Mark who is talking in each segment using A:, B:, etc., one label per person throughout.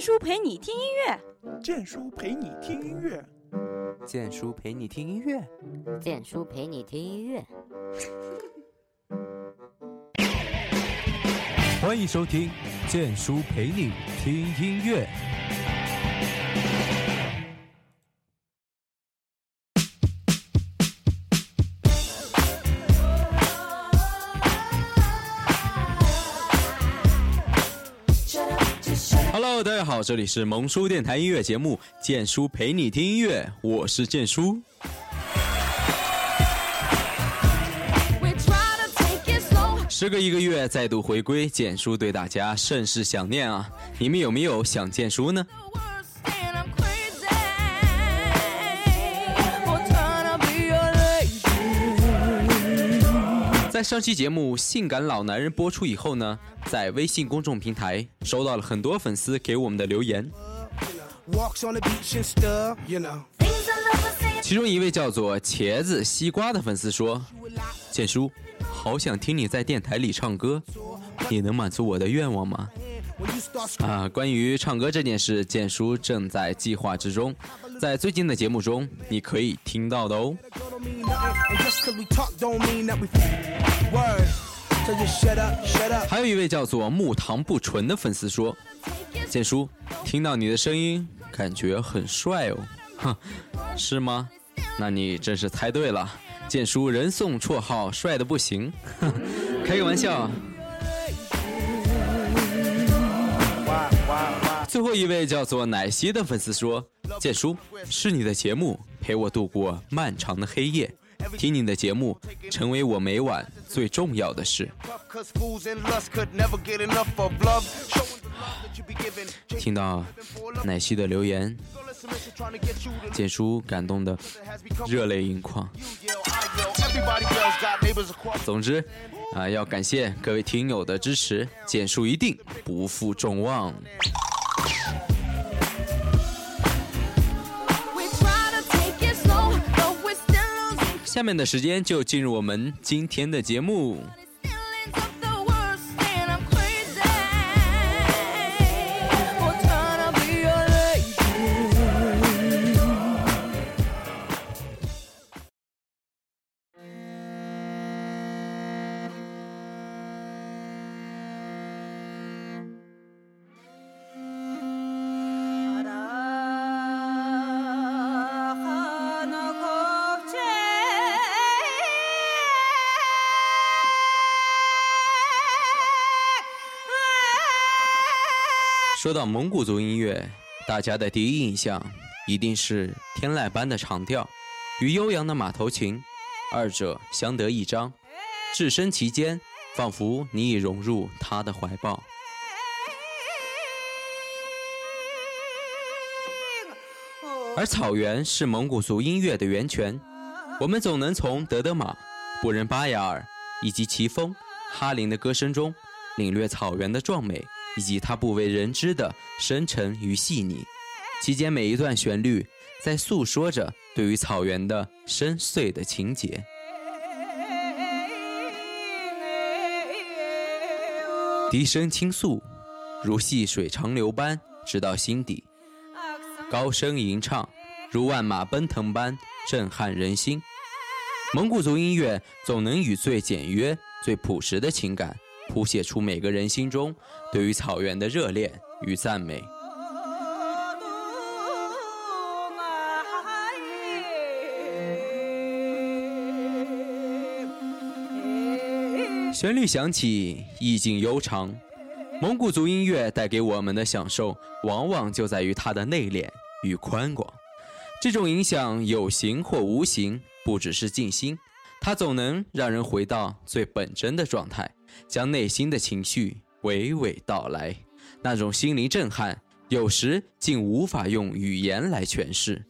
A: 叔陪你听音乐，
B: 建叔陪你听音乐，
C: 建叔陪你听音乐，
D: 建叔陪你听音乐。
C: 欢迎收听建叔陪你听音乐。Hello， 大家好，这里是萌叔电台音乐节目《建叔陪你听音乐》，我是建叔。时隔1个月再度回归，建叔对大家甚是想念啊！你们有没有想建叔呢？在上期节目《性感老男人》播出以后呢，在微信公众平台收到了很多粉丝给我们的留言，其中一位叫做茄子西瓜的粉丝说：建叔，好想听你在电台里唱歌，你能满足我的愿望吗？关于唱歌这件事，建叔正在计划之中，在最近的节目中你可以听到的哦。还有一位叫做木糖不纯的粉丝说：建叔，听到你的声音感觉很帅哦。哼，是吗？那你真是猜对了，建叔人送绰号帅得不行。开个玩笑。最后一位叫做奶昔的粉丝说：建叔，是你的节目陪我度过漫长的黑夜，听你的节目成为我每晚最重要的事。听到奶昔的留言，建叔感动得热泪盈眶。总之要感谢各位听友的支持，建叔一定不负众望。下面的时间就进入我们今天的节目。说到蒙古族音乐，大家的第一印象一定是天籁般的长调与悠扬的马头琴，二者相得益彰，置身其间，仿佛你已融入他的怀抱。而草原是蒙古族音乐的源泉，我们总能从德德玛、布仁巴雅尔以及齐峰、哈林的歌声中领略草原的壮美，以及它不为人知的深沉与细腻，其间每一段旋律在诉说着对于草原的深邃的情节。笛声倾诉，如细水长流般直到心底；高声吟唱，如万马奔腾般震撼人心。蒙古族音乐总能以最简约、最朴实的情感谱写出每个人心中对于草原的热恋与赞美。旋律响起，意境悠长。蒙古族音乐带给我们的享受，往往就在于它的内敛与宽广。这种影响有形或无形，不只是静心，它总能让人回到最本真的状态，将内心的情绪娓娓道来，那种心灵震撼，有时竟无法用语言来诠释。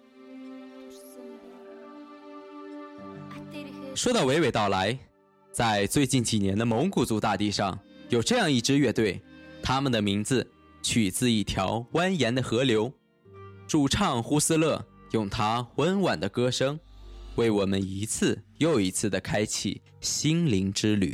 C: 说到娓娓道来，在最近几年的蒙古族大地上，有这样一支乐队，他们的名字取自一条蜿蜒的河流，主唱呼斯勒用他温婉的歌声，为我们一次又一次地开启心灵之旅。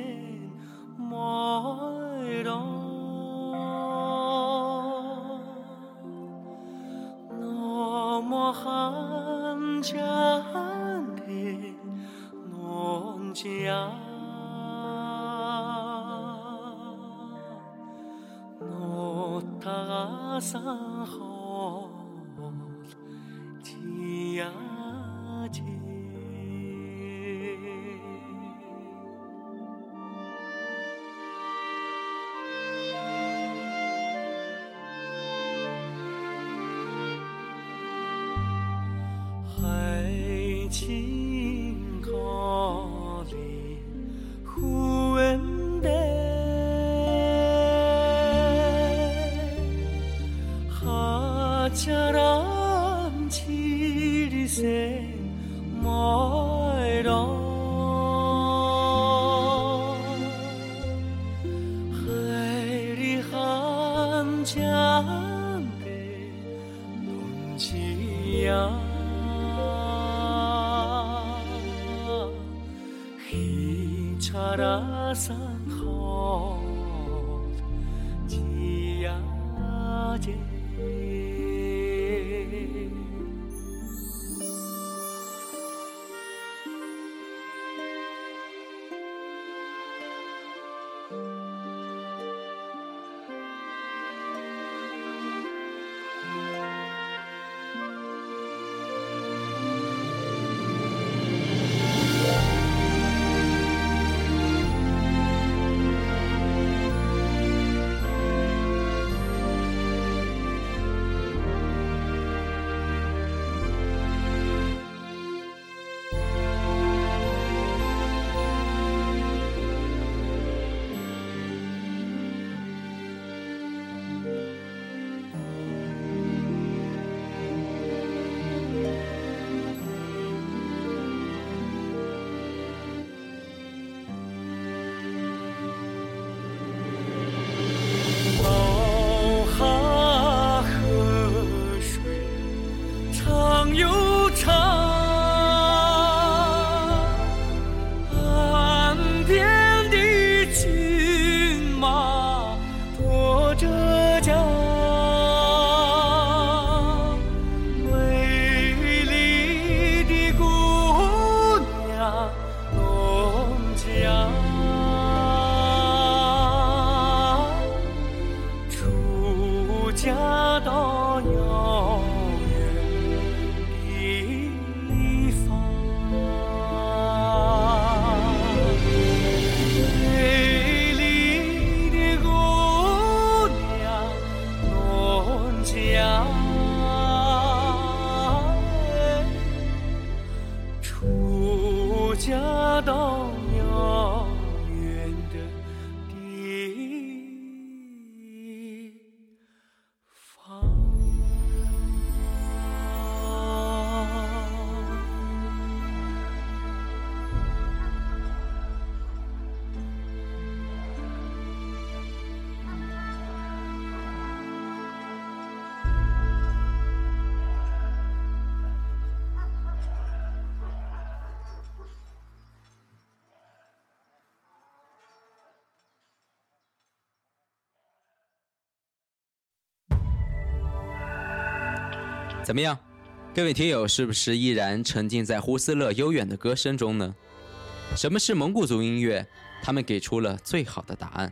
C: 怎么样，各位听友是不是依然沉浸在胡斯勒悠远的歌声中呢？什么是蒙古族音乐？他们给出了最好的答案。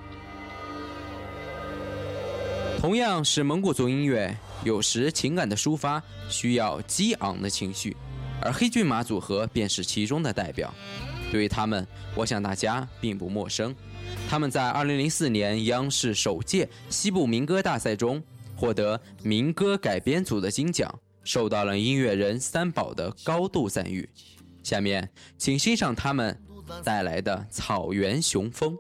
C: 同样是蒙古族音乐，有时情感的抒发需要激昂的情绪，而黑骏马组合便是其中的代表。对于他们，我想大家并不陌生。他们在2004年央视首届西部民歌大赛中获得民歌改编组的金奖，受到了音乐人三宝的高度赞誉。下面请欣赏他们带来的《草原雄风》。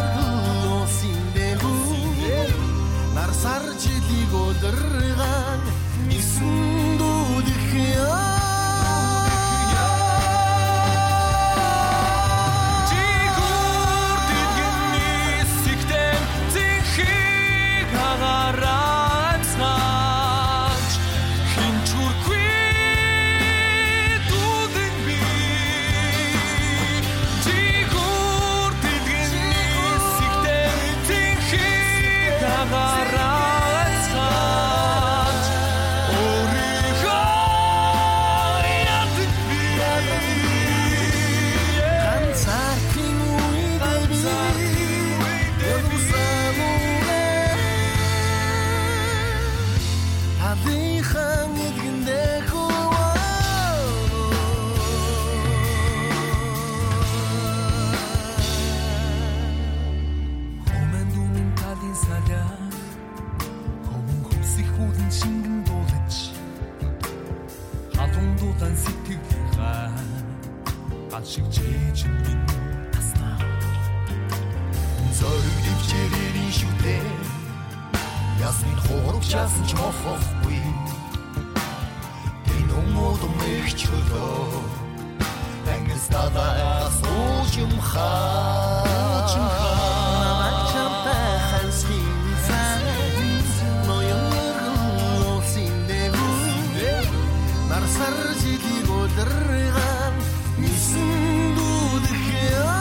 A: Нар сар жилиг өдөргөн Ясны хорог часан ч мохохгүй Тэнумод мэгч хөлөө Ангис дадаа сууж юм хаа Намачамтай хансын цай Ноён өргөн улсын дээгүү Нарсар жилиг өдөрган Нисэн дүүдэх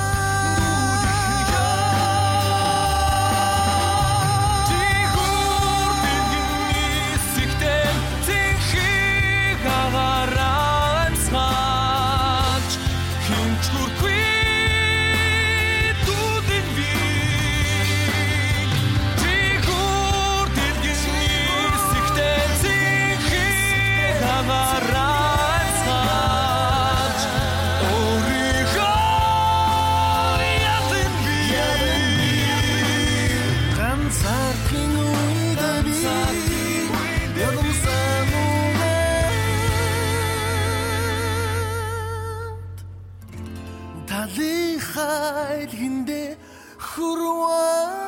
A: Хайлгиндэ хүрвээ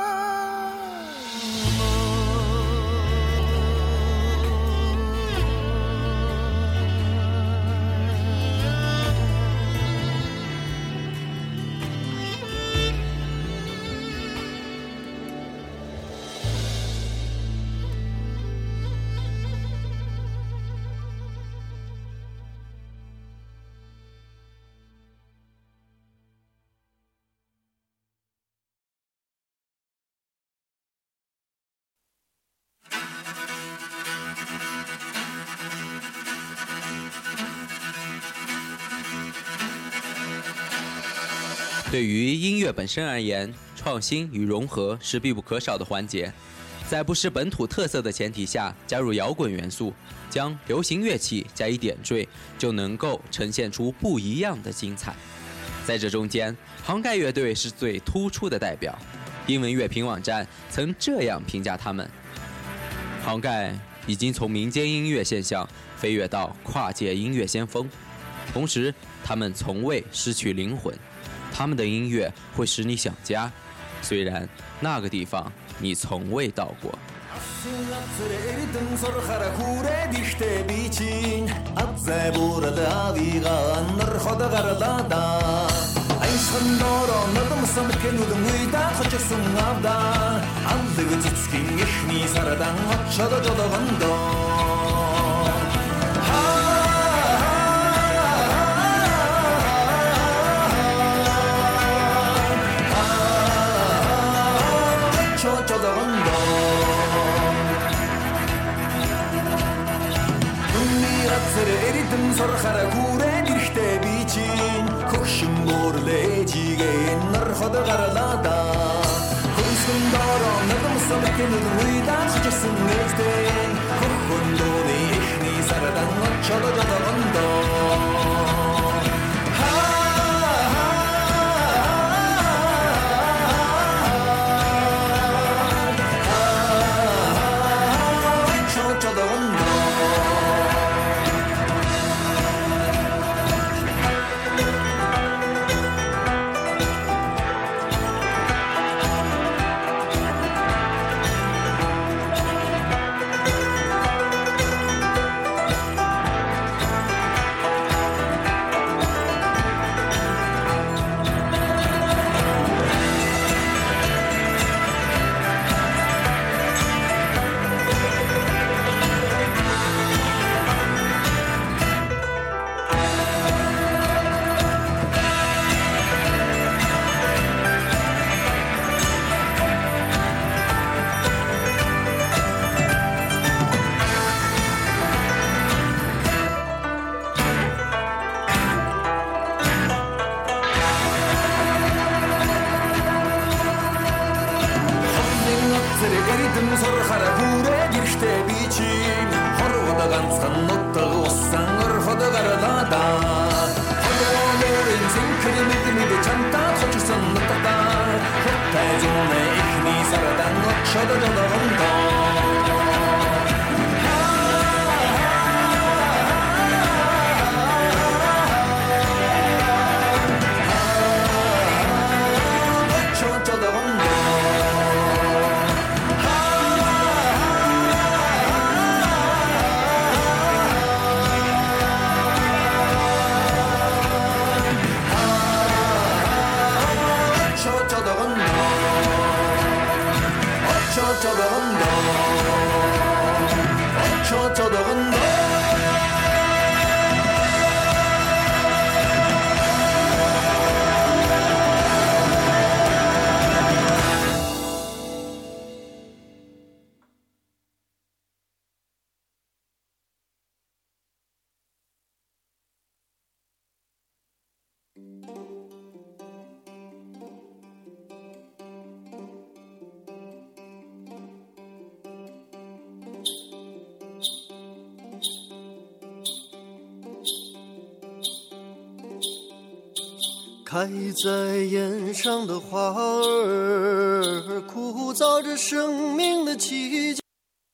C: 对于音乐本身而言，创新与融合是必不可少的环节。在不失本土特色的前提下，加入摇滚元素，将流行乐器加以点缀，就能够呈现出不一样的精彩。在这中间，杭盖乐队是最突出的代表。英文乐评网站曾这样评价他们：杭盖已经从民间音乐现象飞跃到跨界音乐先锋，同时他们从未失去灵魂。他们的音乐会使你想家，虽然那个地方你从未到过。
A: Сорхара хүрээд ирэхтэй би чинь хөгшин мөрлөөжигээ нар ходгарлаа хөрсөн дороо надамсан кэнүүд үйдаа чичсэн нэртэй хөрхөндөөний ихний сарадан очолодондоо
E: 开在眼上的花儿，枯燥着生命的气节。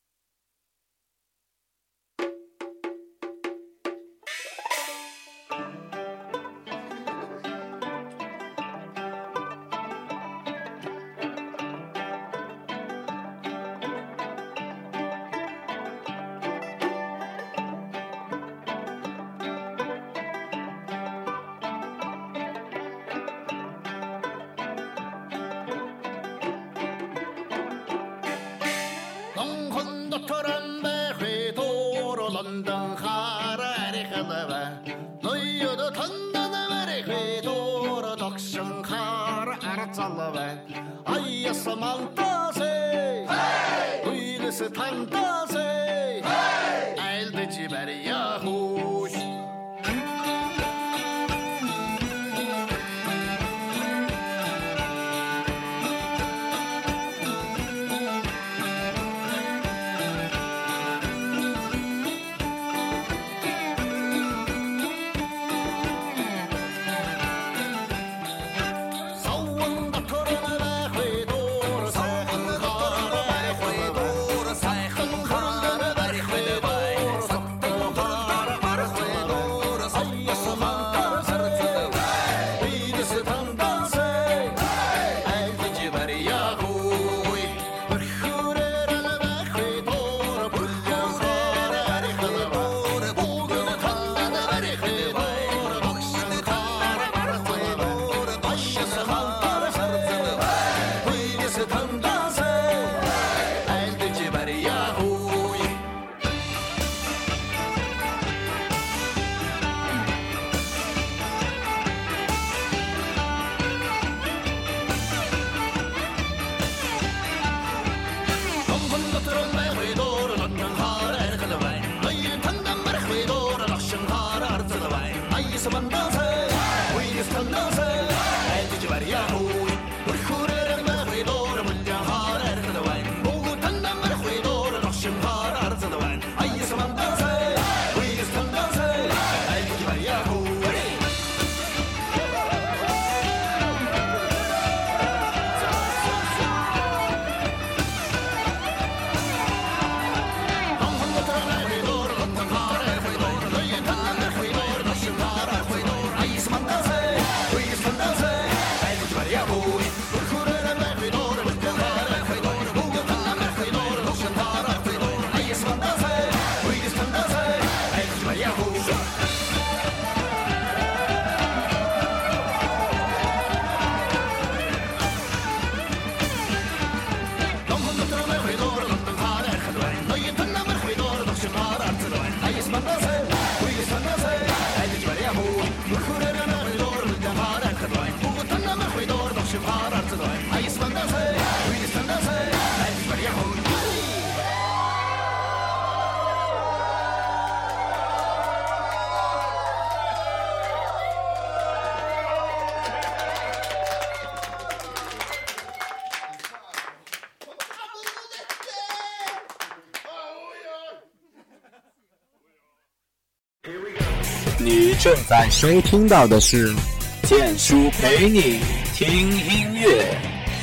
C: 你正在收听到的是建叔陪你听音乐。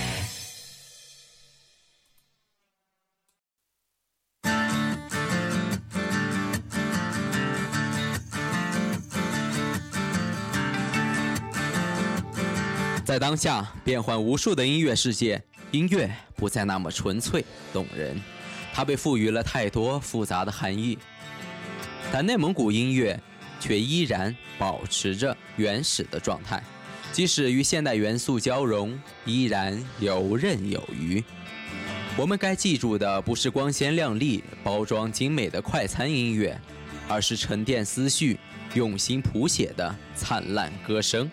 C: 在当下变幻无数的音乐世界，音乐不再那么纯粹动人，它被赋予了太多复杂的含义。但内蒙古音乐却依然保持着原始的状态，即使与现代元素交融，依然游刃有余。 我们该记住的不是光鲜亮丽、包装精美的快餐音乐，而是沉淀思绪、用心谱写的灿烂歌声。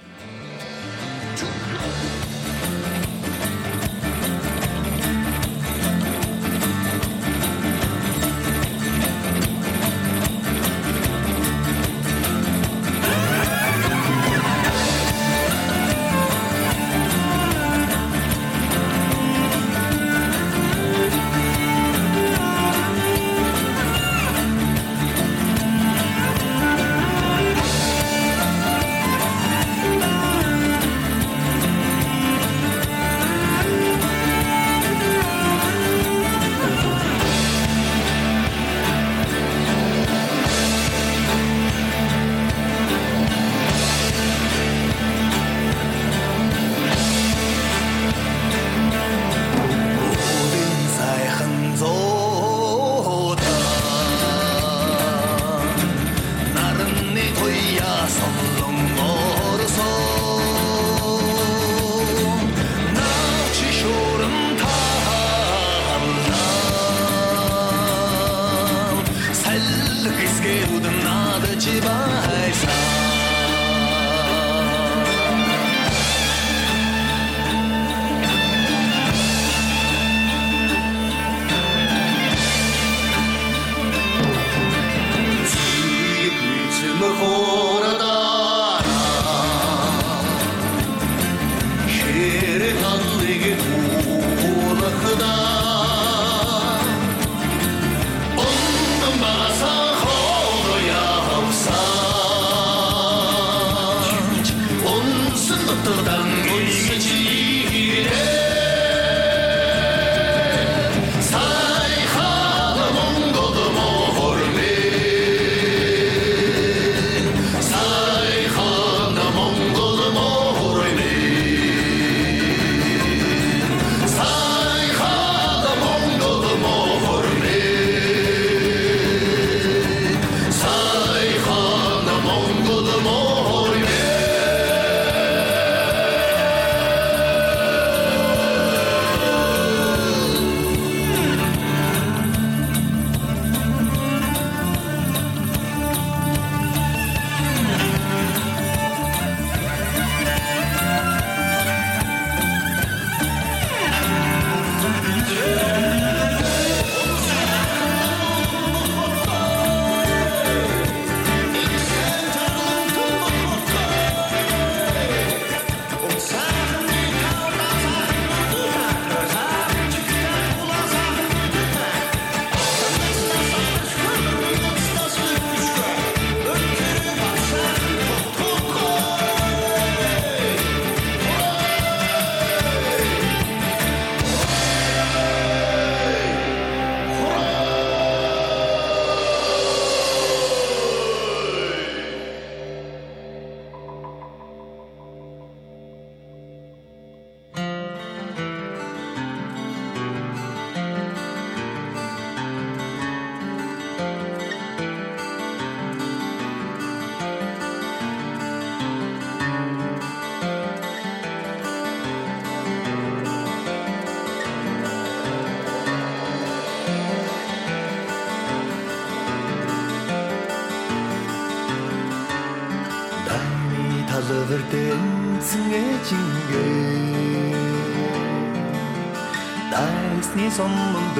A: Дайсны сонмон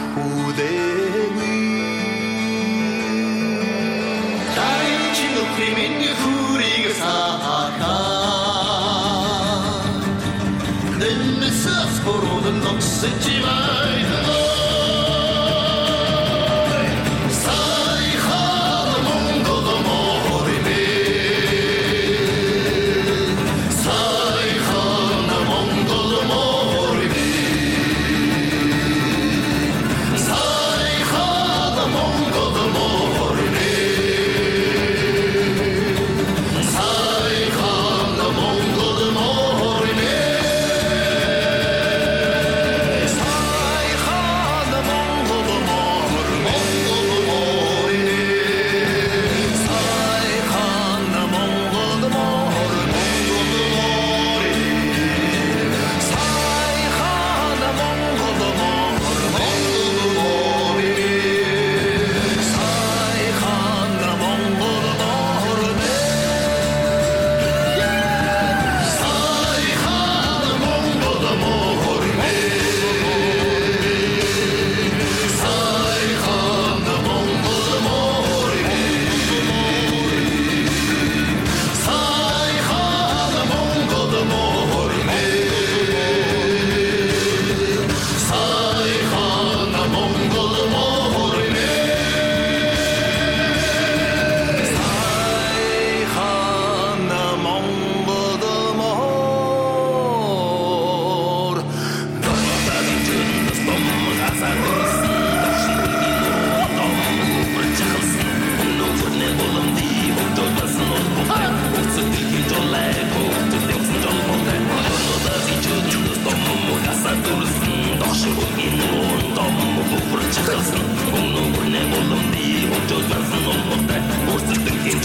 A: өвхүүдээгүй Дайчин өхрийн хүрийг саахаа Нэмэсэс хорон ногсэж байна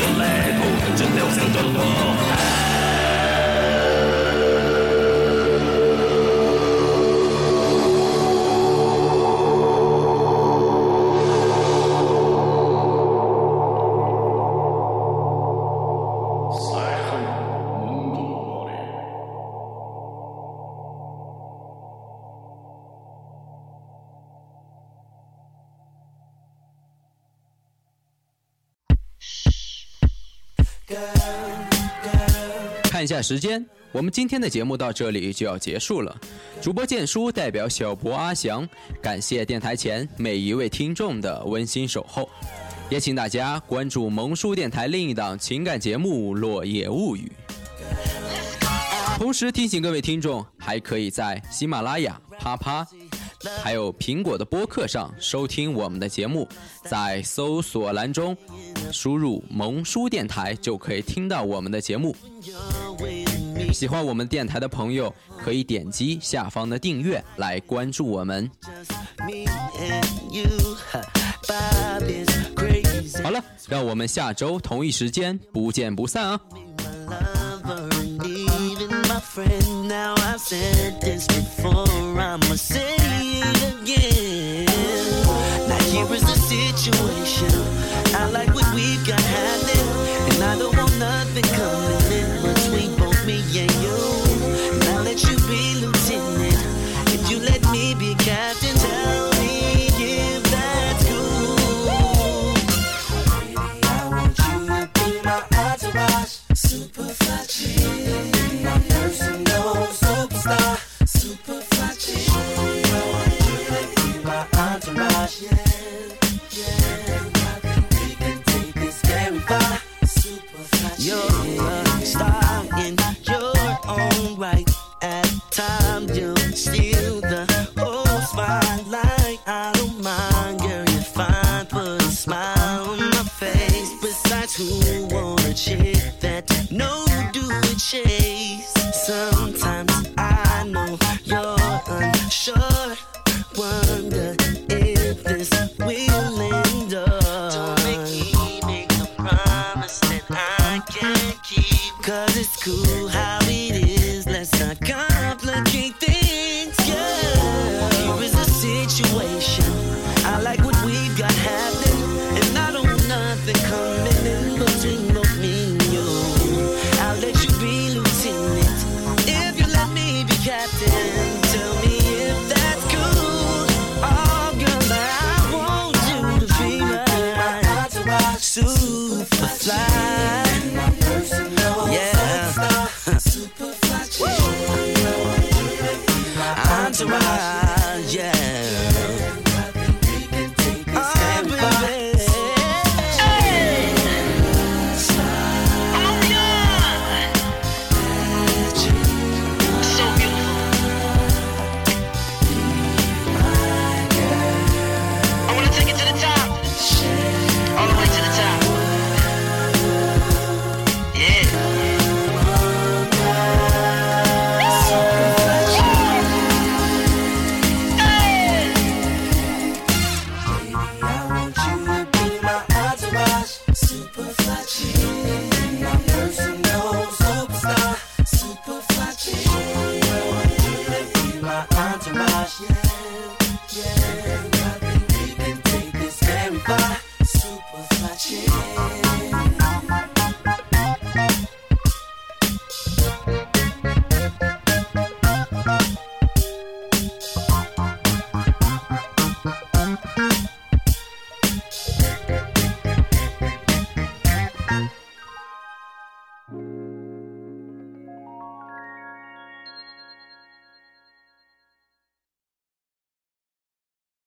A: 嚟鋪，盡流成進步。
C: 看一下时间，我们今天的节目到这里就要结束了。主播建叔代表小博阿翔，感谢电台前每一位听众的温馨守候，也请大家关注萌叔电台另一档情感节目《落叶物语》。同时提醒各位听众，还可以在喜马拉雅、啪啪还有苹果的播客上收听我们的节目，在搜索栏中输入萌叔电台就可以听到我们的节目。喜欢我们电台的朋友可以点击下方的订阅来关注我们。好了，让我们下周同一时间不见不散啊。Friend, now I've said this before, I'ma say it again. Now here is the situation, I like what we've got happening, and I don't want nothing coming in between both me and you. Now let you be lieutenant, if you let me be captain, tell me if that's cool. Baby, I want you to be my entourage, super fly chick. Personal superstar, super fly chick. I want you to be my entourage, yeah. I think we can take this very far. Super fly chick. You're a star in your own right. At times you'll steal the whole spotlight. I don't mind, girl, you're fine. Put a smile on my face. Besides, who want a chick that no do it chase? Sometimes I know you're unsure, wonder if this will endure. Don't make me make a promise that I can't keep. Cause it's cool how it is, let's not complicate things, yeah. Here is the situation, I like what we've got happening, and I don't want nothing coming in between both me and you. I'll let you be lieutenant, captain, tell me if that's cool. Oh, girl, I want you to be my super fly. Yeah, super fly. Entourage, yeah. Yeah, I think we can take this very far. Super fly chick.